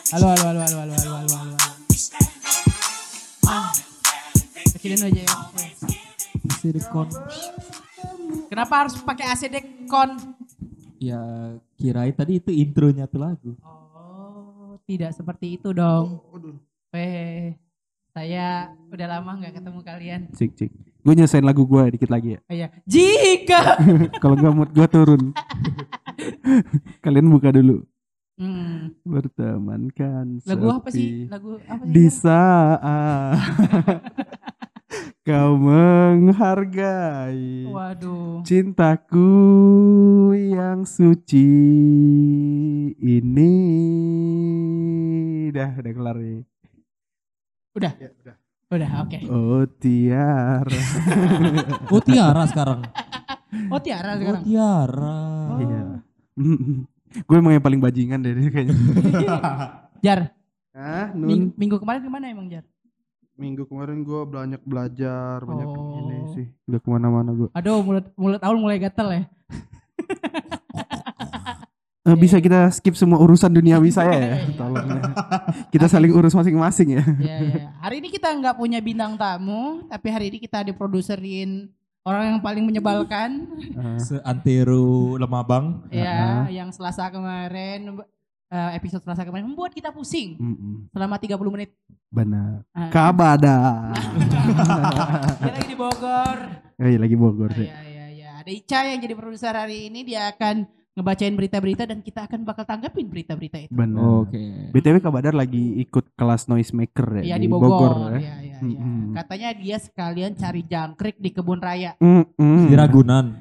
Halo. Kecilin aja ya. Silikon. Kenapa harus pakai ACD kon? Ya kirain tadi itu intronya tuh lagu. Oh, tidak seperti itu dong. Saya udah lama nggak ketemu kalian. Cik. Gue nyesain lagu gue dikit lagi ya. Oh iya. Jika. Kalau nggak mood gue turun. Kalian buka dulu. Berteman kan Lagu apa sepi sih? Lagu apa sih? di saat kau menghargai Waduh. cintaku yang suci ini. Udah kelar nih. Udah. Ya, udah. Udah, oke. Oh Tiara. Oh Tiara sekarang. Oh Tiara Oh sekarang. Tiara. Iya. Gue emang yang paling bajingan deh kayaknya. Jar. Ah, Nun. Minggu kemarin kemana emang Jar? Minggu kemarin gue banyak belajar, banyak Oh. ini sih. Udah kemana-mana gue. Aduh, mulut Aul mulai gatel ya. Bisa kita skip semua urusan duniawi saya ya, Iya. tolong ya. Kita saling urus masing-masing ya. Iya. Hari ini kita nggak punya bintang tamu, tapi hari ini kita diproduserin orang yang paling menyebalkan. Seantero Lemabang. Ya, yang Selasa kemarin, episode Selasa kemarin membuat kita pusing selama 30 menit. Benar. Ah. Kabada. Dia lagi di Bogor. Lagi Bogor sih. Iya. Ada Ica yang jadi produser hari ini, dia akan ngebacain berita-berita dan kita akan bakal tanggepin berita-berita itu. Benar. Oke. BTW Kabadar lagi ikut kelas noisemaker Iya ya di Bogor. ya. Iya. Katanya dia sekalian cari jangkrik di kebun raya. Di Ragunan.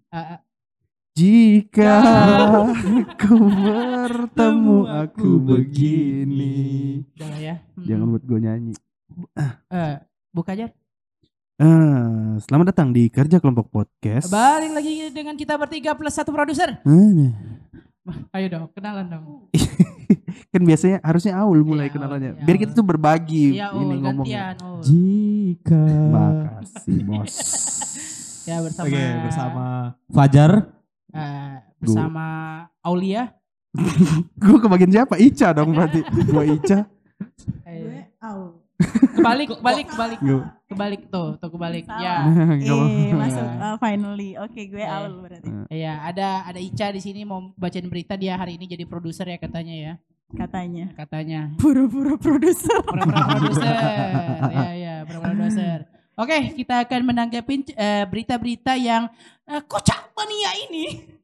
Jika ku bertemu aku begini. Udah lah ya. Jangan buat gue nyanyi. Buka aja. Selamat datang di Kerja Kelompok Podcast. Balik lagi dengan kita bertiga plus satu produser. Ayo dong, kenalan dong. Kan biasanya harusnya Aul mulai Iya, kenalannya. iya, Biar Aul. kita tuh berbagi Iya, ini Ul, ngomongnya. gantian. Ul. Jika. Makasih bos. Ya bersama. Oke, bersama Fajar. Bersama Aulia. Gue kebagian siapa? Ica dong berarti. Gue Ica. Gue Aul. Kebalik tuh kebalik. Salah. Ya. Masuk finally. Oke, gue Aul berarti. Iya, ada Ica di sini mau bacain berita, dia hari ini jadi produser ya katanya ya. Katanya. Pura-pura produser. Pura-pura produser. Iya, pura-pura produser. Oke, kita akan menanggapi berita-berita yang kocak mania ini.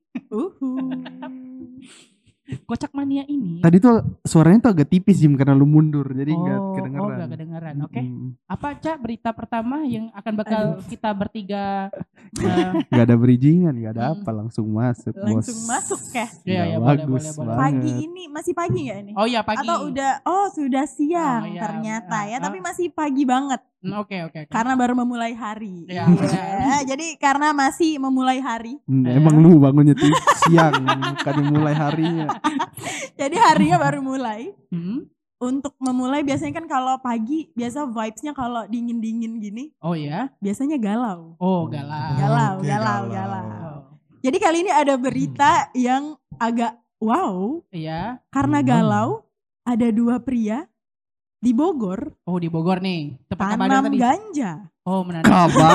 Kocak mania ini. Tadi tuh suaranya tuh agak tipis Jim karena lu mundur jadi nggak kedengeran. Oh, nggak kedengeran. Oke. Apa Cak berita pertama yang akan bakal kita bertiga Gak ada bridgingan, gak ada apa, langsung masuk bos. Langsung masuk ya. Iya, Bagus boleh. banget. Pagi ini masih pagi nggak ini? Oh iya pagi. Atau sudah siang Oh, iya. ternyata ya, tapi masih pagi banget. Oke. Karena baru memulai hari. Iya. Jadi karena masih memulai hari. Emang lu bangunnya tuh siang, bukan mulai harinya. Jadi harinya baru mulai. Hmm? Untuk memulai biasanya kan kalau pagi biasa vibes-nya kalau dingin-dingin gini Oh ya. biasanya galau. Oh galau. Galau. Jadi kali ini ada berita yang agak wow. Iya. Karena galau ada dua pria di Bogor Oh di Bogor nih. Tepat Kabadar tanam tadi. ganja. Oh menanam.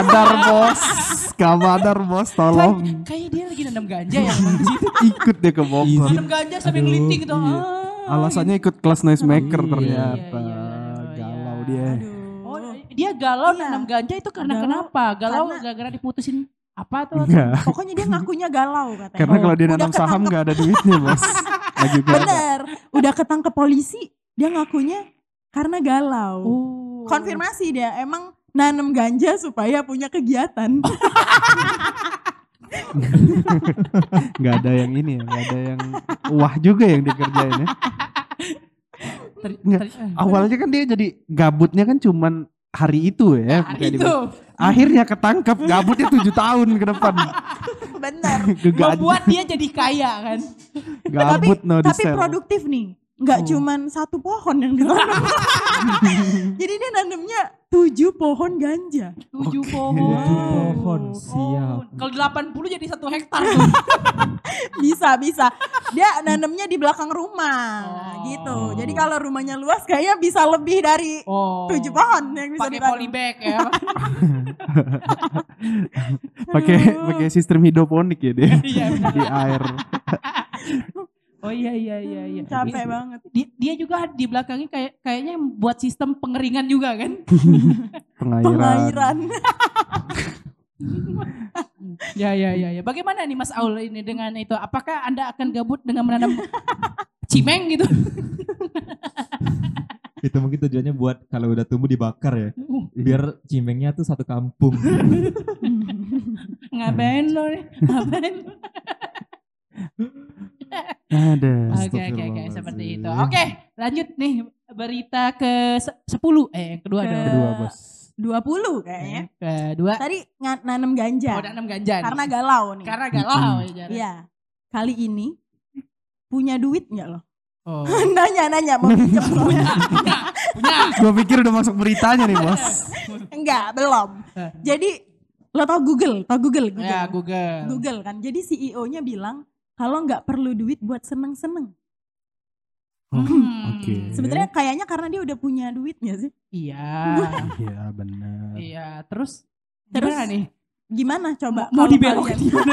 Kabadar bos, tolong. Kayak dia lagi nanam ganja ya emang di situ. Ikut deh ke Bogor. Nanam ganja sambil ngelinting gitu. Iya. Alasannya ikut kelas noisemaker Iya. ternyata. Iya. Galau dia. Oh dia galau Iya. nanam ganja itu karena Galau. kenapa? Galau Karena- gara-gara diputusin apa tuh? Enggak. Pokoknya dia ngakunya galau katanya. Karena kalau dia Udah nanam saham ketangkep. gak ada duitnya bos. Lagi gak ada. Bener, udah ketangkep polisi, dia ngakunya karena galau. Oh. Konfirmasi dia emang nanam ganja supaya punya kegiatan. Gak ada yang ini ya, gak ada yang wah juga yang dikerjain ya. Nggak. Awalnya kan dia jadi gabutnya kan cuman hari itu ya. Hari kayak itu akhirnya ketangkep gabutnya 7 tahun ke depan. Bener. Gegajah. membuat dia jadi kaya kan. Gabut no Tapi di sel. produktif nih. nggak cuman satu pohon yang ditanam. Jadi dia nanamnya 7 pohon ganja. 7 pohon. 7 pohon, siap. Kalau 80 jadi 1 hektar tuh. Bisa. Dia nanamnya di belakang rumah gitu. Jadi kalau rumahnya luas kayaknya bisa lebih dari 7 pohon yang bisa Pakai ditanam. polybag ya. Pakai sistem hidroponik ya dia. Iya. Di air. Oh iya. Capek banget. Dia juga di belakangnya kayaknya buat sistem pengeringan juga kan? Pengairan. Ya. Bagaimana nih Mas Aul ini dengan itu? Apakah Anda akan gabut dengan menanam cimeng gitu? Itu mungkin tujuannya buat kalau udah tumbuh dibakar ya. Biar cimengnya tuh satu kampung. Ngapain lo nih? Ngapain? Ada. Oke, seperti itu. Oke, lanjut nih berita ke 10. Yang kedua dong. Kedua, Bos. 20 kayaknya. Kedua. Tadi nanam ganja. Nanam ganja. Karena galau nih. Karena galau ya. Jara. Iya. Kali ini punya duit enggak lo? Oh. Nanya mau pinjam lo. Punya. Gue pikir udah masuk beritanya nih, Bos. Enggak, belum. Jadi lo tau Google? Ya, Google. Google kan. Jadi CEO-nya bilang kalau nggak perlu duit buat seneng-seneng. Oke. Sebenarnya kayaknya karena dia udah punya duitnya sih. Iya. Iya, benar. Iya, terus gimana nih? Gimana coba? Mau kalau dibelokin kalian gimana?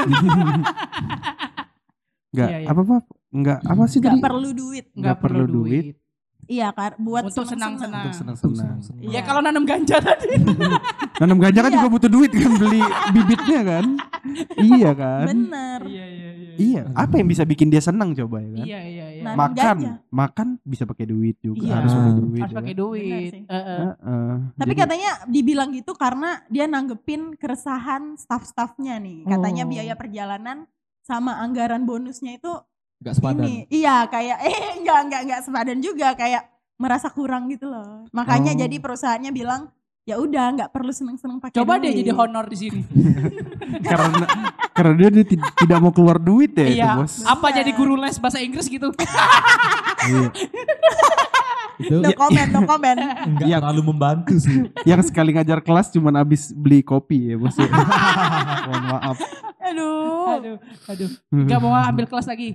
Enggak Iya. apa-apa. Enggak apa sih nggak tadi? perlu duit. Nggak perlu duit. Iya, buat Untuk seneng-seneng. senang-senang. Senang-senang. Iya, kalau nanam ganja tadi. Nanam ganja kan Iya. juga butuh duit kan, beli bibitnya kan. Iya kan. Bener. Iya, apa yang bisa bikin dia senang coba ya kan? Iya. Nanam ganja. Makan bisa pakai duit juga, Iya. harus pakai duit. Harus ya pakai kan? duit. Benar sih. Tapi Tapi katanya dibilang gitu karena dia nanggepin keresahan staff-staffnya nih. Katanya Oh. biaya perjalanan sama anggaran bonusnya itu Gak sepadan. ini. Iya, kayak enggak sepadan juga, kayak merasa kurang gitu loh. Makanya Oh. jadi perusahaannya bilang, ya udah nggak perlu seneng-seneng pakai coba duit. dia jadi honor di sini. karena dia tidak mau keluar duit ya itu, Iya. Bos. Apa jadi guru les bahasa Inggris gitu? Iya. Itu No comment. enggak Iya. terlalu membantu sih. Yang sekali ngajar kelas cuman habis beli kopi ya, Bos. Ya. Mohon maaf. Aduh. Gak mau ambil kelas lagi.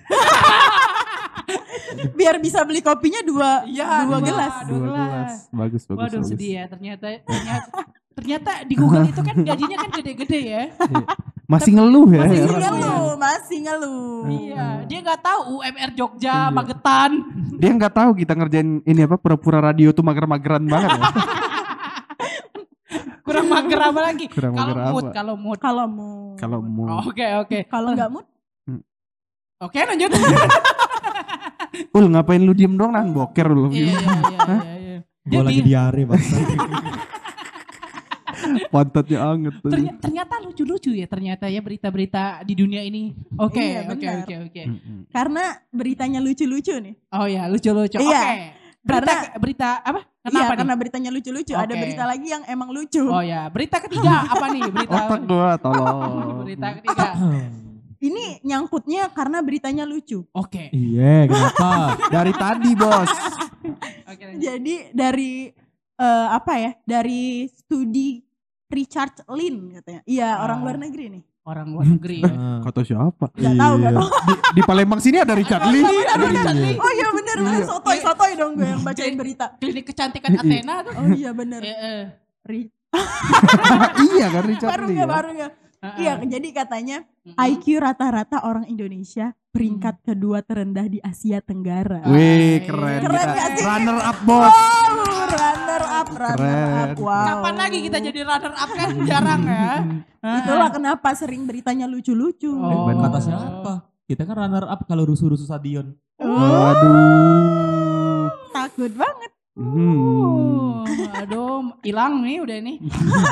Biar bisa beli kopinya dua gelas. Dua gelas. Bagus. Waduh, bagus. sedih ya. Ternyata di Google itu kan gajinya kan gede-gede ya. Masih ngeluh ya. Masih ngeluh. Iya, dia nggak tahu UMR Jogja, Iya. Magetan. Dia nggak tahu kita ngerjain ini apa pura-pura radio tuh mager-mageran banget ya. Kurang mager apa lagi? Kurang mager apa? Kalau mood. Kalau mau. Oke. Kalau nggak mood, Oke, lanjut. Ngapain lu diem doang nahan boker lu. Iya. Gue lagi diare bangsa. Pantatnya anget tuh. Ternyata lucu-lucu ya ternyata ya berita-berita di dunia ini. Oke. Iya, benar. Mm-mm. karena beritanya lucu-lucu nih. Oh ya, lucu-lucu. Iya. Oke. Berita apa? Kenapa Iya, nih? karena beritanya lucu-lucu. Ada Oke. berita lagi yang emang lucu. Oh ya, berita ketiga apa nih? Otak gua tolong. Berita ketiga. Ini nyangkutnya karena beritanya lucu. Oke. Iya, kenapa? Dari tadi, Bos. Oke, lanjut. Jadi dari dari studi Richard Lin katanya. Iya, orang luar negeri nih. Orang luar negeri ya. Kata siapa? Gak tahu. Di Palembang sini ada Richard Lee. Ada Richard Lee. Oh iya bener. Sotoy dong gue yang bacain berita. Klinik kecantikan Athena tuh. Oh iya bener. Iya kan Richard Baru Lee. gak. Ya? Iya, jadi katanya IQ rata-rata orang Indonesia peringkat kedua terendah di Asia Tenggara. Wih, keren. Keren kita. gak sih? Runner up, Bos. Runner up. Keren. Wow. Kapan lagi kita jadi runner up kan jarang ya. Itulah kenapa sering beritanya lucu-lucu. Oh. Kata siapa? Kita kan runner up kalau rusuh-rusuh stadion. Waduh. Takut banget. Aduh, hilang nih udah nih.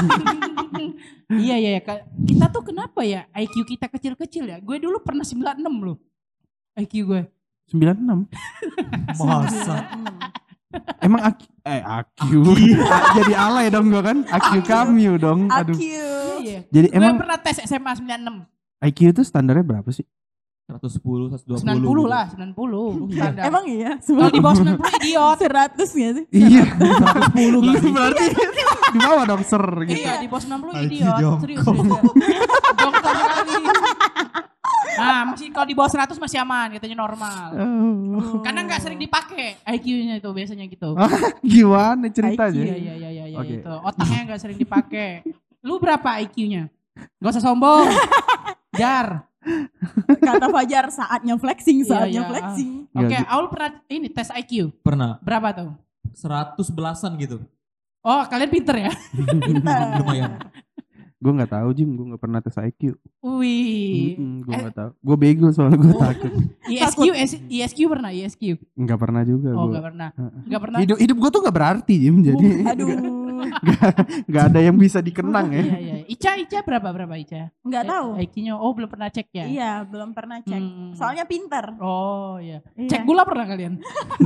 Iya. Kita tuh kenapa ya IQ kita kecil-kecil ya? Gue dulu pernah 96 loh. IQ gue. 96. Masa? Emang AQ. Jadi alay dong gua kan. AQ Kamyu dong. Aduh. IQ. Iya. Jadi Gue emang pernah tes SMA 96. IQ itu standarnya berapa sih? 110, 120. 90 lah, 90. Standar. Emang iya? Kalau di bawah 90 idiot. 100 gak sih? Iya. 110 Lu gak sih? berarti di bawah dong ser gitu. Iya, di bawah 90 Lagi idiot. jongkok. Serius. Jongkok sekali. Nah, masih kalau di bawah 100 masih aman, katanya normal. Karena nggak sering dipakai IQ-nya itu biasanya gitu. Gimana ceritanya? Iya, Oke. itu. Otaknya nggak sering dipakai. Lu berapa IQ-nya? Gak usah sombong. Jar. Kata Fajar saatnya flexing, Iya, saatnya iya. flexing. Oke, Nggak, Aul pernah ini tes IQ. Pernah Berapa tuh? 100 belasan gitu. Oh, kalian pinter ya? Pintar. Lumayan. Gue nggak tahu Jim, gue nggak pernah tes IQ. Wih. Gue nggak tahu. Gue bego soalnya gue takut. ISQ pernah ISQ? Nggak pernah juga. Oh, Gua. nggak pernah. Nggak pernah. Hidup gue tuh nggak berarti Jim, jadi Aduh. nggak ada yang bisa dikenang ya. Iya. Ica berapa Ica? Nggak tahu. IQ-nya belum pernah cek ya? Iya, belum pernah cek. Hmm. Soalnya pinter. Oh iya. Iya. Cek gula pernah kalian?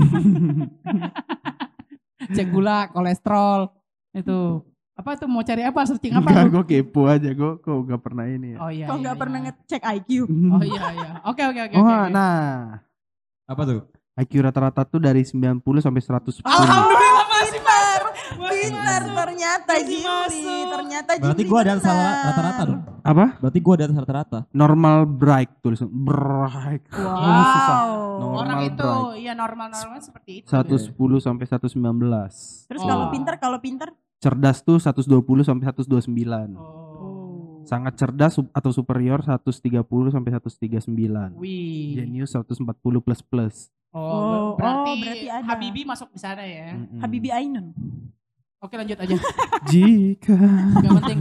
Cek gula, kolesterol. Itu. Apa tuh mau cari apa? Searching apa? Enggak, lu? gue kepo aja. Gue kok nggak pernah ini ya. Oh iya. Kok iya, nggak pernah iya. ngecek IQ? Oh iya. Oke. Oh, oke. nah. Apa tuh? IQ rata-rata tuh dari 90 sampai 110. Alhamdulillah masih Pintar ternyata Masih Jimli. masuk. Ternyata Berarti Jimli gue ada benar. rata-rata dong. Apa? Berarti gue ada rata-rata. Normal bright tulisan. Bright. Wow. Oh, susah. Orang Normal itu, bright. iya normal seperti itu. 110 sampai 119. Terus Oh. kalau pinter? Cerdas tuh 120 sampai 129. Oh. Sangat cerdas atau superior 130 sampai 139. Wih. Genius 140 plus plus. Oh, berarti ada. Habibi masuk di sana ya. Habibi Ainun. Oke lanjut aja. Jika Gak penting.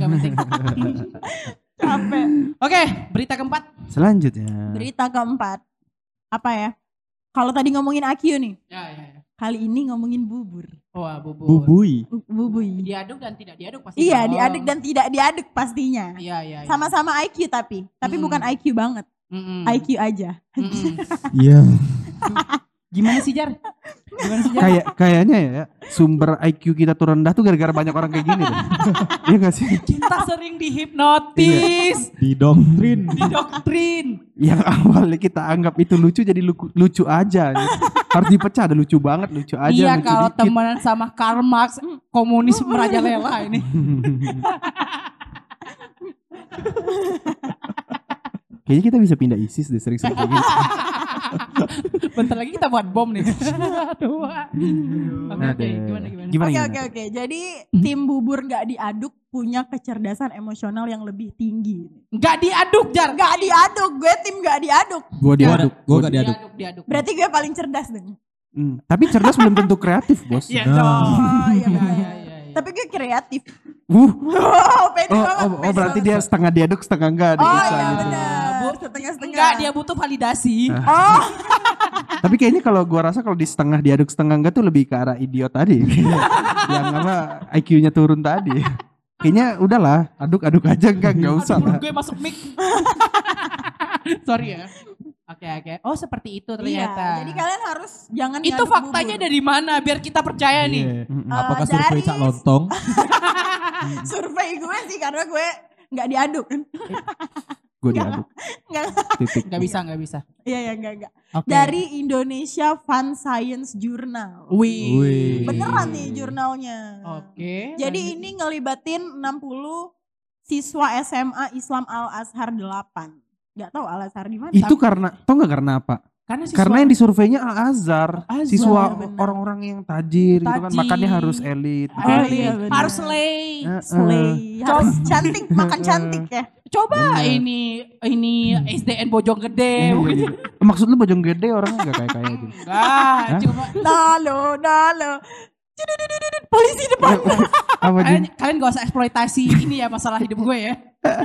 Capek. Oke, berita keempat. selanjutnya. Berita keempat. Apa ya? Kalau tadi ngomongin IQ nih. Ya. Kali ini ngomongin bubur. Wah, bubur. Bubui. Bubui. Diaduk dan tidak diaduk pasti. Iya, dong. diaduk dan tidak diaduk pastinya. Iya. Sama-sama IQ tapi bukan IQ banget. Mm-mm. IQ aja. Mm-mm. Iya. Gimana sih Jar? Kayaknya ya sumber IQ kita tuh rendah tuh gara-gara banyak orang kayak gini deh. Iya gak sih? Kita sering dihipnotis, Didoktrin. didoktrin. Yang awalnya kita anggap itu lucu jadi lucu aja. Harus dipecah, ada lucu banget, lucu aja. Iya lucu kalau dikit. temenan sama Karl Marx, komunis merajalela ini. Kayaknya kita bisa pindah ISIS deh sering-sering kayak gini. Bentar lagi kita buat bom nih. Aduh. Oke, Aduh. gimana? Oke. Jadi tim bubur nggak diaduk punya kecerdasan emosional yang lebih tinggi. Nggak diaduk Jar. Nggak diaduk, gue tim nggak diaduk. Gue diaduk. Gue gak diaduk. Diaduk. Berarti gue paling cerdas dong. Tapi cerdas belum tentu kreatif bos. Iya Nah. dong. Oh iya Iya, benar. iya. Tapi gue kreatif. Iya, Pede banget. Oh berarti dia setengah diaduk setengah enggak Oh bisa iya gitu. benar. Setengah-setengah. Enggak, dia butuh validasi. Oh, Tapi kayaknya kalau gua rasa kalau di setengah diaduk setengah enggak tuh lebih ke arah idiot tadi. Yang apa IQ-nya turun tadi. Kayaknya udahlah, aduk-aduk aja enggak usah Aduh, lah. gue masuk mic. Sorry ya. Oke. Oh seperti itu ternyata. iya. Jadi kalian harus jangan itu ngaduk faktanya bubur. dari mana biar kita percaya nih? Iya. Mm-mm. Apakah dari- survei Cak Lontong? Survei gue sih karena gue nggak diaduk. Gue diaduk. Nggak. Titik. Nggak bisa. Iya enggak. Oke. Dari Indonesia Fun Science Journal. Wih. Beneran nih jurnalnya. Oke. Jadi ini ngelibatin 60 siswa SMA Islam Al Azhar 8. Gak tahu Al Azhar di mana. Itu karena tau nggak karena apa? Karena yang di surveinya Al Azhar, Azhar, siswa benar. orang-orang yang tajir, gitu kan, Tajir. makannya harus elit. Oh, iya, benar. harus slay. Slay. Harus cantik, makan cantik ya. Coba Bener. ini SDN Bojonggede. Iya, mungkin. gitu. Maksud lu Bojonggede orangnya gak kayak gitu. Enggak, Hah? cuma Dalo. Cudududududud, polisi depan. Apa Jin? kalian gak usah eksploitasi ini ya masalah hidup gue ya.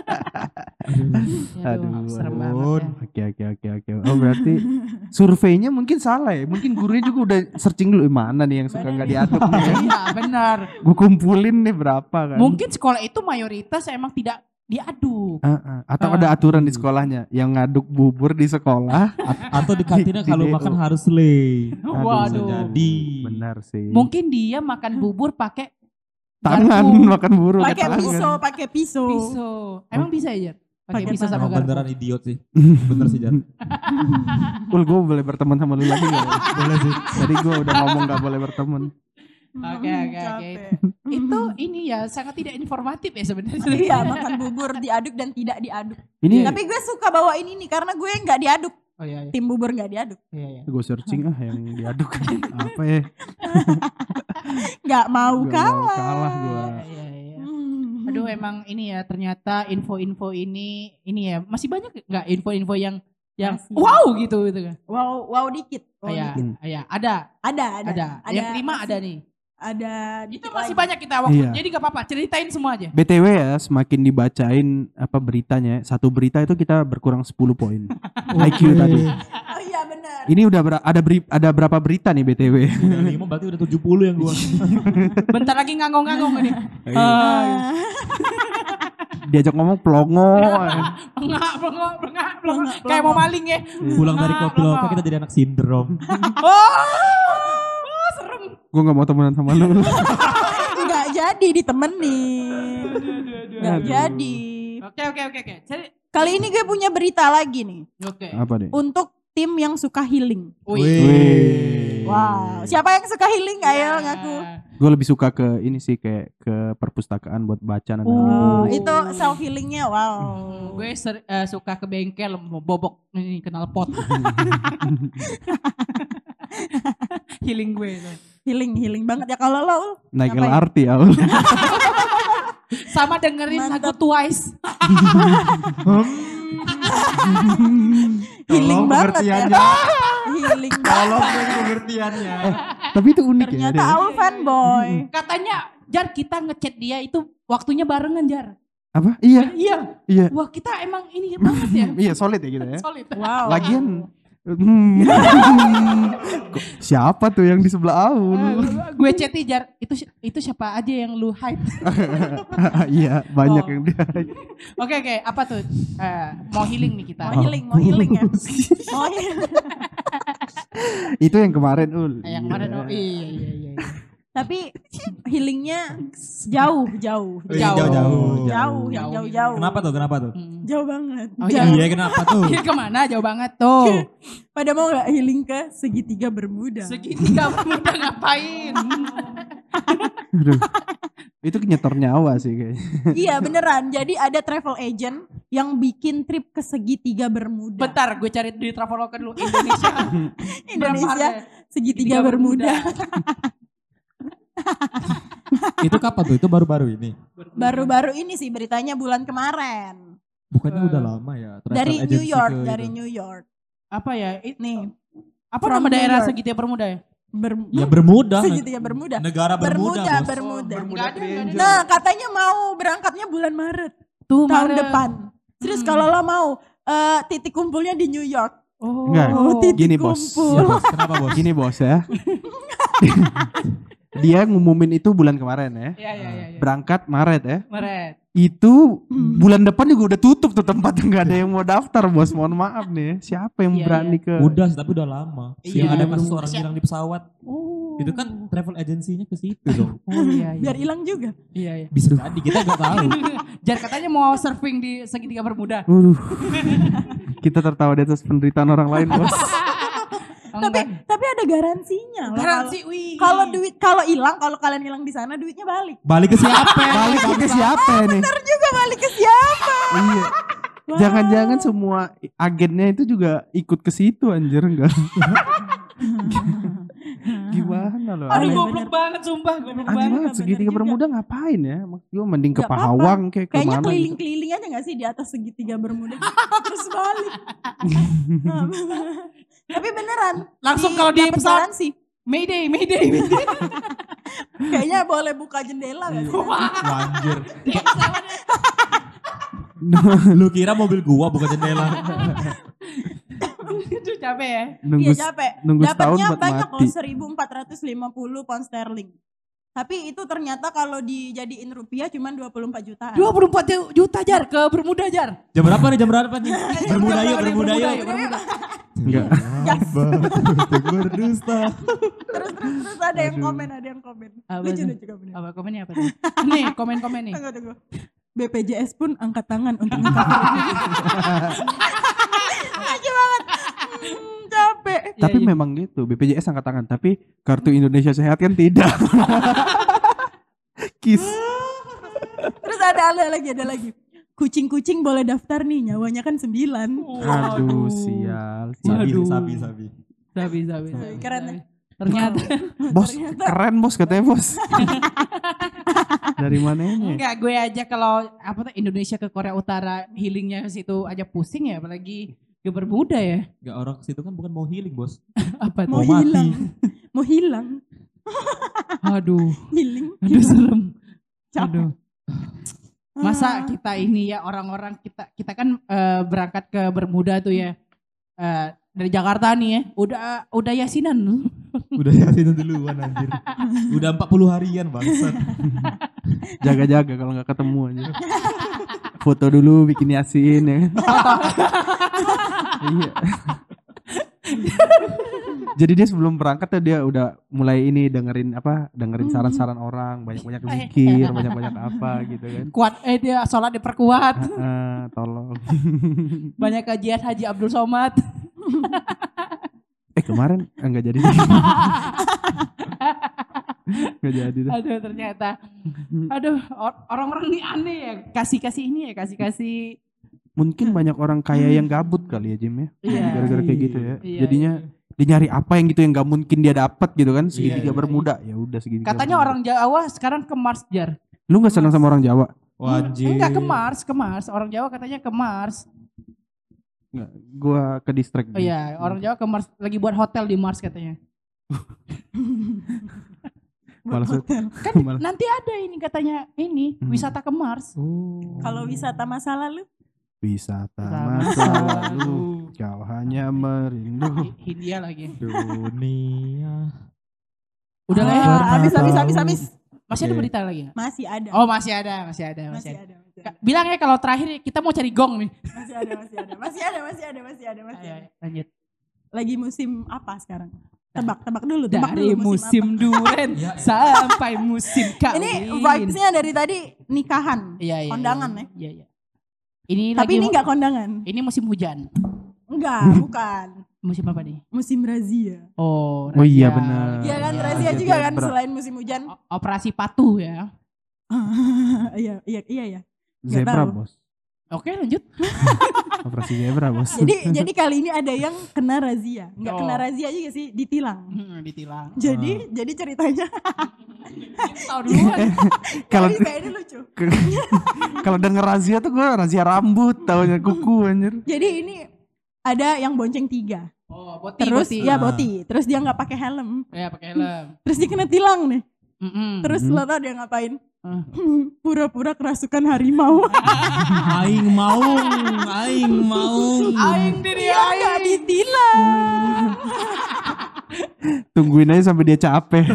Aduh, serem aduh. banget ya. Oke. Oh berarti surveinya mungkin salah ya. Mungkin gurunya juga udah searching dulu mana nih yang suka nggak diaduk nih. Ya. Iya benar. Gue kumpulin nih berapa kan. Mungkin sekolah itu mayoritas emang tidak diaduk. Atau ada aturan di sekolahnya yang ngaduk bubur di sekolah. Atau di kantinnya Di kalau DO. makan harus slay. Waduh. Jadi. Benar sih. Mungkin dia makan bubur pakai tangan garpu, makan bubur Pakai tangan. pisau. pisau. Emang bisa ya? Jar? Oke, Paket bisa sama Emang garpu. beneran idiot sih. Bener sih Jar. Ul, gue boleh berteman sama lu lagi gak? Boleh sih. Tadi gue udah ngomong gak boleh berteman. Oke. Capek. Itu ini ya sangat tidak informatif ya sebenarnya. Iya, makan bubur diaduk dan tidak diaduk. Ini Tapi gue suka bawain ini karena gue nggak diaduk. Oh iya. Tim bubur nggak diaduk. Iya. gue searching yang diaduk. Apa ya? Nggak mau Gak mau kalah. kalah gue. Iya. Hmm. Aduh emang ini ya ternyata info-info ini ya masih banyak nggak info-info yang Masih. wow gitu kan. Wow dikit. Wow Iya, dikit. iya, ada. Ada. Yang kelima masih- ada nih. Ada Itu dikit masih lagi. banyak kita waktu. Iya. Jadi gak apa-apa, ceritain semua aja. BTW ya, semakin dibacain apa beritanya, satu berita itu kita berkurang 10 poin. IQ tadi. Oh iya benar. Ini udah ada berapa berita nih BTW? Udah 5 berarti udah 70 yang gua. Bentar lagi ngangong-ngangong ini. Diajak ngomong plongo. Bengak. Kayak mau maling ya. Pulang dari koplo kita jadi anak sindrom. Oh, serem. Gue gak mau temenan sama lu. Nggak jadi ditemenin. Nggak Aduh. jadi. Oke. Kali ini gue punya berita lagi nih. Oke. Apa deh? Untuk tim yang suka healing. Wih. Wow. Siapa yang suka healing? Ayo ngaku. Gue lebih suka ke ini sih, kayak ke perpustakaan buat baca. Oh, itu self healingnya. Wow. Gue suka ke bengkel mau bobok ini knalpot. Healing gue itu. Healing banget ya kalau lo. Naik ngapain? LRT Aul. Sama dengerin lagu Twice. Healing banget ya. Healing banget. pengertiannya. Tapi itu unik ya. Ternyata Aul fanboy. Katanya Jar kita ngechat dia itu waktunya barengan Jar. Apa? Iya. Iya. Wah kita emang ini banget ya. Iya, solid ya gitu ya. Solid. Wow. Lagian kok siapa tuh yang di sebelah Aul? Gue chatty Jar, itu siapa aja yang lu hype? Iya, banyak Oh. yang dia. Oke, apa tuh? Mau healing nih kita. Mau healing ya. Mau healing. Itu yang kemarin Ul. Yang kemarin iya. Tapi healingnya jauh. Jauh. Kenapa tuh? Jauh banget. Oh, Jauh. Iya kenapa tuh? Iya kemana? Jauh banget tuh. Pada mau gak healing ke segitiga Bermuda? Segitiga muda ngapain? Aduh. Itu nyetor nyawa sih kayaknya. Iya beneran. Jadi ada travel agent yang bikin trip ke segitiga Bermuda. Bentar, gue cari di Traveloka dulu. Indonesia segitiga Bermuda. Itu kapan tuh? Itu baru-baru ini. Baru-baru ini sih beritanya bulan kemarin. Bukannya udah lama ya? Travel Dari agency New York, ke dari itu. New York. Apa ya? Nih, Apa From nama New daerah York. segitiga Bermuda ya? Ya Bermuda. segitiga Bermuda. Negara Bermuda, bos. Bermuda. Nggak ada. Nah, katanya mau berangkatnya bulan Maret Tuh tahun Maret. depan. Serius kalau lo mau titik kumpulnya di New York. Oh. Enggak. titik Gini, Bos. kumpul. Iya, bos. Kenapa bos? Gini bos ya. Dia ngumumin itu bulan kemarin ya. Iya. Berangkat Maret ya. Maret. Itu bulan depan juga udah tutup tuh tempatnya, nggak ada yang mau daftar bos. Mohon maaf nih. Siapa yang Iya, berani ke? Udah, tapi udah lama. Iya. Yang ada kasus orang hilang di pesawat. Oh. Itu kan travel agency-nya ke situ dong. Oh iya. Biar hilang juga. Iya. Bisa jadi, kita nggak tahu. Jar katanya mau surfing di segitiga Bermuda. Kita tertawa di atas penderitaan orang lain bos. Tapi ada garansinya loh. Garansi, wih. Kalau hilang, kalau kalian hilang di sana duitnya balik. Balik ke siapa? Balik ke siapa nih? Ntar juga balik ke siapa? Iya. Wow. Jangan-jangan semua agennya itu juga ikut ke situ anjir enggak? Gimana loh? Aduh Aneh. goblok banget sumpah. Goblok Aneh banget. banget segitiga juga. Bermuda ngapain ya? Maksudnya mending ke Nggak apa-apa. Pahawang kayak Kayaknya kemana gitu. keliling-keliling aja gak sih di atas segitiga Bermuda. Terus balik. Tapi beneran. Langsung kalau di dapet pesawat. garansi. Mayday. Kayaknya boleh buka jendela gak sih? Anjir. Lu kira mobil gua bukan jendela. Itu capek ya. Nunggu, Iya capek. nunggu setahun Dapatnya buat banyak mati. loh 1.450 pound sterling. Tapi itu ternyata kalau dijadiin rupiah cuma 24 jutaan. 24 juta Jar ke Bermuda Jar. Jam berapa nih? Bermuda yuk. Bermuda. Enggak. Berdusta. Terus ada yang komen, Apa Lucu tuh? juga bener. Apa komennya apa tuh? Nih komen-komen nih. Tunggu. BPJS pun angkat tangan untuk mengcover ini. Lucu banget. Capek. Tapi memang gitu, BPJS angkat tangan, tapi kartu Indonesia Sehat kan tidak. Kis. Terus ada lagi. Kucing-kucing boleh daftar nih, nyawanya kan 9. Aduh, sial. Sabi. Keren. Ternyata. Bos, keren bos katanya bos. Dari mananya? Enggak, gue aja kalau Indonesia ke Korea Utara healingnya ke situ aja pusing ya, apalagi ke Bermuda ya. Enggak, orang ke situ kan bukan mau healing, Bos. Apa Mau tuh? hilang. Mau hilang. Aduh. Healing. Aduh serem. Capek. Aduh. Masa kita ini ya orang-orang kita kan berangkat ke Bermuda tuh ya. Dari Jakarta nih ya. Udah yasinan. Udah yasin duluan anjir. Udah 40 harian bangsat. Jaga-jaga kalau nggak ketemu aja. Foto dulu bikin yasin ya. Iya. Jadi dia sebelum berangkat tuh dia udah mulai ini dengerin saran-saran orang, banyak-banyak zikir, banyak-banyak apa gitu kan. Kuat dia sholat diperkuat. Tolong. Banyak kajian Haji Abdul Somad. Kemarin enggak jadi. Enggak jadi dah. Aduh ternyata. Aduh orang-orang ini aneh ya. Kasih-kasih ini ya, kasih-kasih. Mungkin banyak orang kaya yang gabut kali ya Jim ya. Iya. Gara-gara kayak gitu ya. Iya, Jadinya dia nyari apa yang gitu yang gak mungkin dia dapat gitu kan. Segitiga Iya. Bermuda. Ya udah segitiga. Katanya Bermuda. orang Jawa sekarang ke Mars, Jar. Lu gak senang sama orang Jawa? Anjir. Enggak ke Mars. Orang Jawa katanya ke Mars. Enggak, gua ke distrik. Oh iya, orang Jawa ke Mars lagi buat hotel di Mars katanya. Malas. Hotel. Kan nanti ada ini katanya wisata ke Mars. Kalau wisata masa lalu, Wisata Sama masa lalu lalu. kau hanya merindu Hindia lagi. Dunia. Udah lah ya. habis. Masih ada berita lagi nggak? Masih ada. Oh masih ada. Bilang ya kalau terakhir kita mau cari gong nih. Masih ada. Ayo, lanjut. Lagi musim apa sekarang? Tebak dulu. Dari musim apa? duren sampai musim kawin. Ini vibes-nya dari tadi nikahan, Iya. kondangan ya. Iya. Ini Tapi lagi ini enggak kondangan. Ini musim hujan. Enggak, bukan. Musim apa nih? Musim razia. Oh, Oh iya razia. benar. Iya kan, Iya, razia razia juga kan zebra. selain musim hujan. Operasi patuh ya. Iya ya. Zebra tahu. bos. Oke lanjut. Operasi zebra bos. Jadi kali ini ada yang kena razia. Enggak Oh. kena razia juga sih, ditilang. Ditilang. Jadi ceritanya Tahu dulu. Kalau ini lucu. kalau denger razia tuh gue razia rambut, taunya kuku anjir. Jadi ini ada yang bonceng 3. Oh, boti. Terus boti. ya boti. Terus dia nggak pakai helm. Ya pakai helm. Terus dia kena tilang nih. Terus Mhm. lo tau dia ngapain? Pura-pura kerasukan harimau. Aing mau. Aing diri Dia nggak ditilang. Tungguin aja sampai dia capek.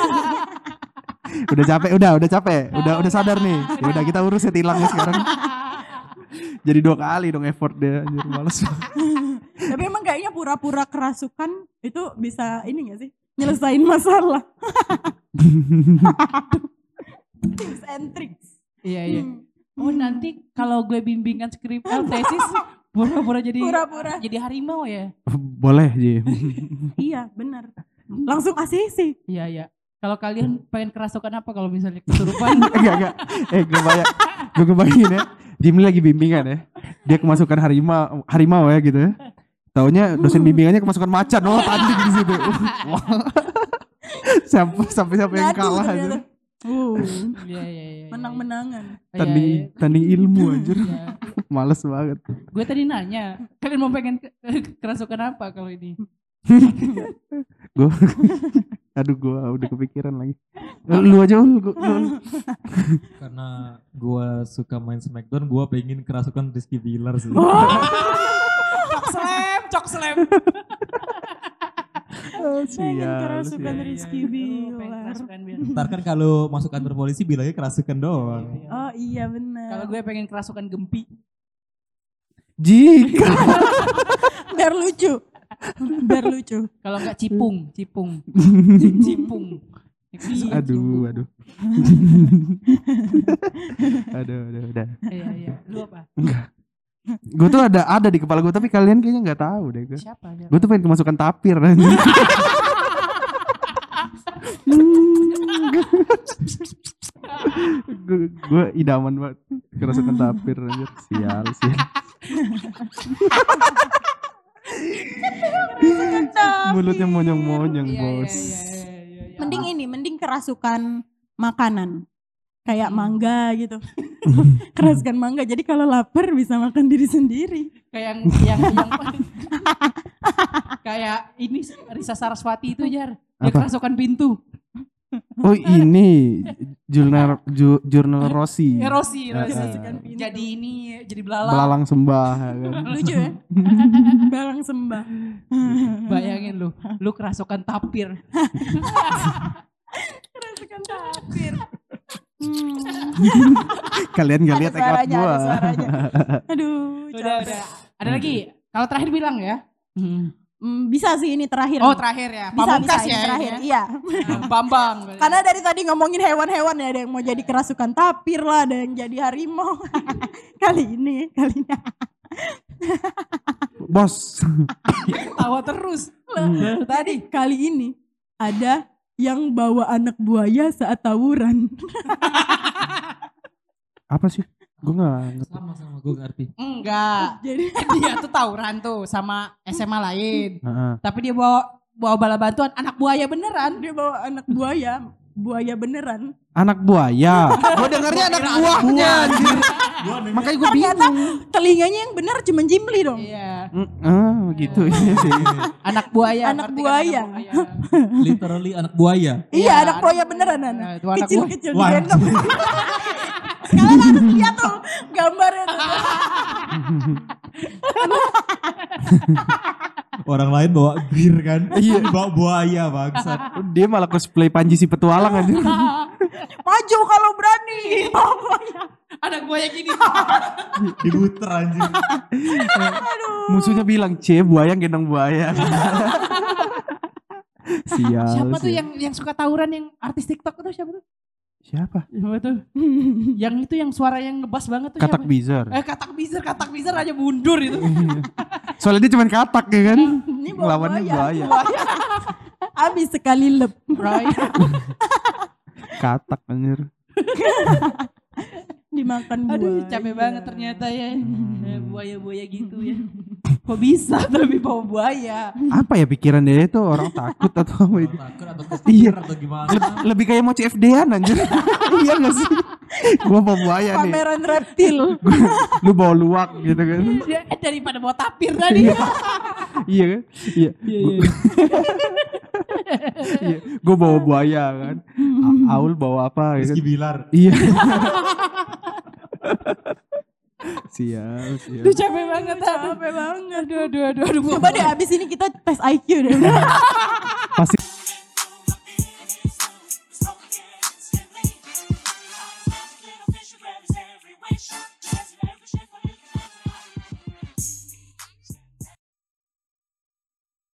udah capek. Udah sadar nih. Ya udah kita urus ya tilangnya sekarang. Jadi 2 kali dong effort dia anjir males. Tapi emang kayaknya pura-pura kerasukan itu bisa ini gak sih? Nyelesain masalah. Tips and tricks. Iya. Oh nanti kalau gue bimbingan skrip tesis pura-pura jadi harimau ya. Boleh Ji. Iya benar. Langsung ACC. Iya. Kalau kalian pengen kerasukan apa kalau misalnya kesurupan? Enggak. Gue kebayangin ya. Jimmy lagi bimbingan ya. Dia kemasukan harimau ya gitu ya. Taunya dosen bimbingannya kemasukan macan. Oh tanding di situ. Sampai siapa yang Ngadu kalah ternyata. aja. Iya. Menang-menangan. Tanding ilmu anjir. Iya. Males banget. Gue tadi nanya, kalian mau pengen kerasukan apa kalau ini? Gue udah kepikiran lagi. Lu aja lu. Karena gua suka main Smackdown, gua pengen kerasukan Rizky Billar sih. Cok slam. Pengen kerasukan sial. Rizky Billar. Ntar kan kalau masuk kantor polisi bilangnya kerasukan doang. Oh iya benar. Kalau gue pengen kerasukan Gempi. Jika Biar lucu. Kalau enggak Cipung. Aduh. Aduh, udah. Iya. Lu apa? Gue tuh ada di kepala gue, tapi kalian kayaknya nggak tahu deh. Siapa? Gue tuh pengen kemasukan tapir. Gue idaman banget kerasukan tapir anjir. Sial. Mulutnya monyong-monyong, bos. Iya. Mending kerasukan makanan. Kayak mangga gitu. Kerasukan mangga. Jadi kalau lapar bisa makan diri sendiri. Kayak yang kayak ini Risa Saraswati itu Jar. Dia Apa? kerasukan pintu. Oh ini jurnal Rossi. Rossi. Kerasukan pintu. Jadi belalang. Belalang sembah kan. Lucu ya? Belalang sembah. Bayangin lu kerasukan tapir. Kerasukan tapir. Kalian gak lihat ekor gua. Ada suaranya. Aduh, Udah. Ada lagi. Kalau terakhir bilang ya. Bisa sih ini terakhir. Oh terakhir ya. Pamungkas ini ya. terakhir. Iya. Bambang. Karena dari tadi ngomongin hewan-hewan ya, ada yang mau jadi kerasukan tapir lah, ada yang jadi harimau. Kali ini. Bos. Tawa terus. Tadi kali ini ada yang bawa anak buaya saat tawuran. Apa sih? Gue gak ngerti. Sama gue ngerti. Enggak. Jadi Dia tuh tawuran tuh sama SMA lain. Heeh. Tapi dia bawa bala bantuan anak buaya beneran. dia bawa anak buaya beneran. Anak buaya. Gue dengernya anak buahnya anjir. Makanya gue Ternyata bingung. telinganya yang bener cuma jimli dong. Iya. Gitu iya sih. Anak buaya. Anak ngerti kan buaya. Literally anak buaya. Iya, anak anak buaya buaya. beneran Nah, anak. itu anak Kecil-kecil buaya. digendong. Kalian harus lihat tuh gambarnya tuh. Orang lain bawa gear kan. Iya. Ini bawa buaya bangsat. Dia malah cosplay Panji si petualang aja. Maju kalau berani. Bawa buaya. Anak buaya gini. Dibuter anjir. Musuhnya bilang, buaya gendong buaya. Sial. Siapa tuh sial. yang suka tawuran yang artis TikTok itu siapa tuh? Siapa? Siapa tuh? Yang itu yang suara yang ngebas banget tuh Katak siapa? bizar. Katak bizar aja mundur itu. Soalnya dia cuma katak ya kan. Ini bawa Lawannya buaya. Abis sekali lep. Right. Katak anjir. Dimakan buaya. Aduh capek banget ternyata ya. Buaya-buaya gitu ya. Kok bisa tapi bawa buaya? Apa ya pikiran dia itu, orang takut atau apa itu? Takut atau Iya. kesetir atau gimana. Lebih kayak mau CFD-an anjir. Iya gak sih? Gua bawa buaya nih. Pameran reptil. Lu bawa luwak gitu kan. Daripada bawa tapir tadi. Iya kan? Iya. Iya. Gue bawa buaya kan. Aul bawa apa gitu. Rizky Bilar. Iya. Sial. Aduh capek banget. Capek banget. Aduh. Coba deh abis ini kita tes IQ deh.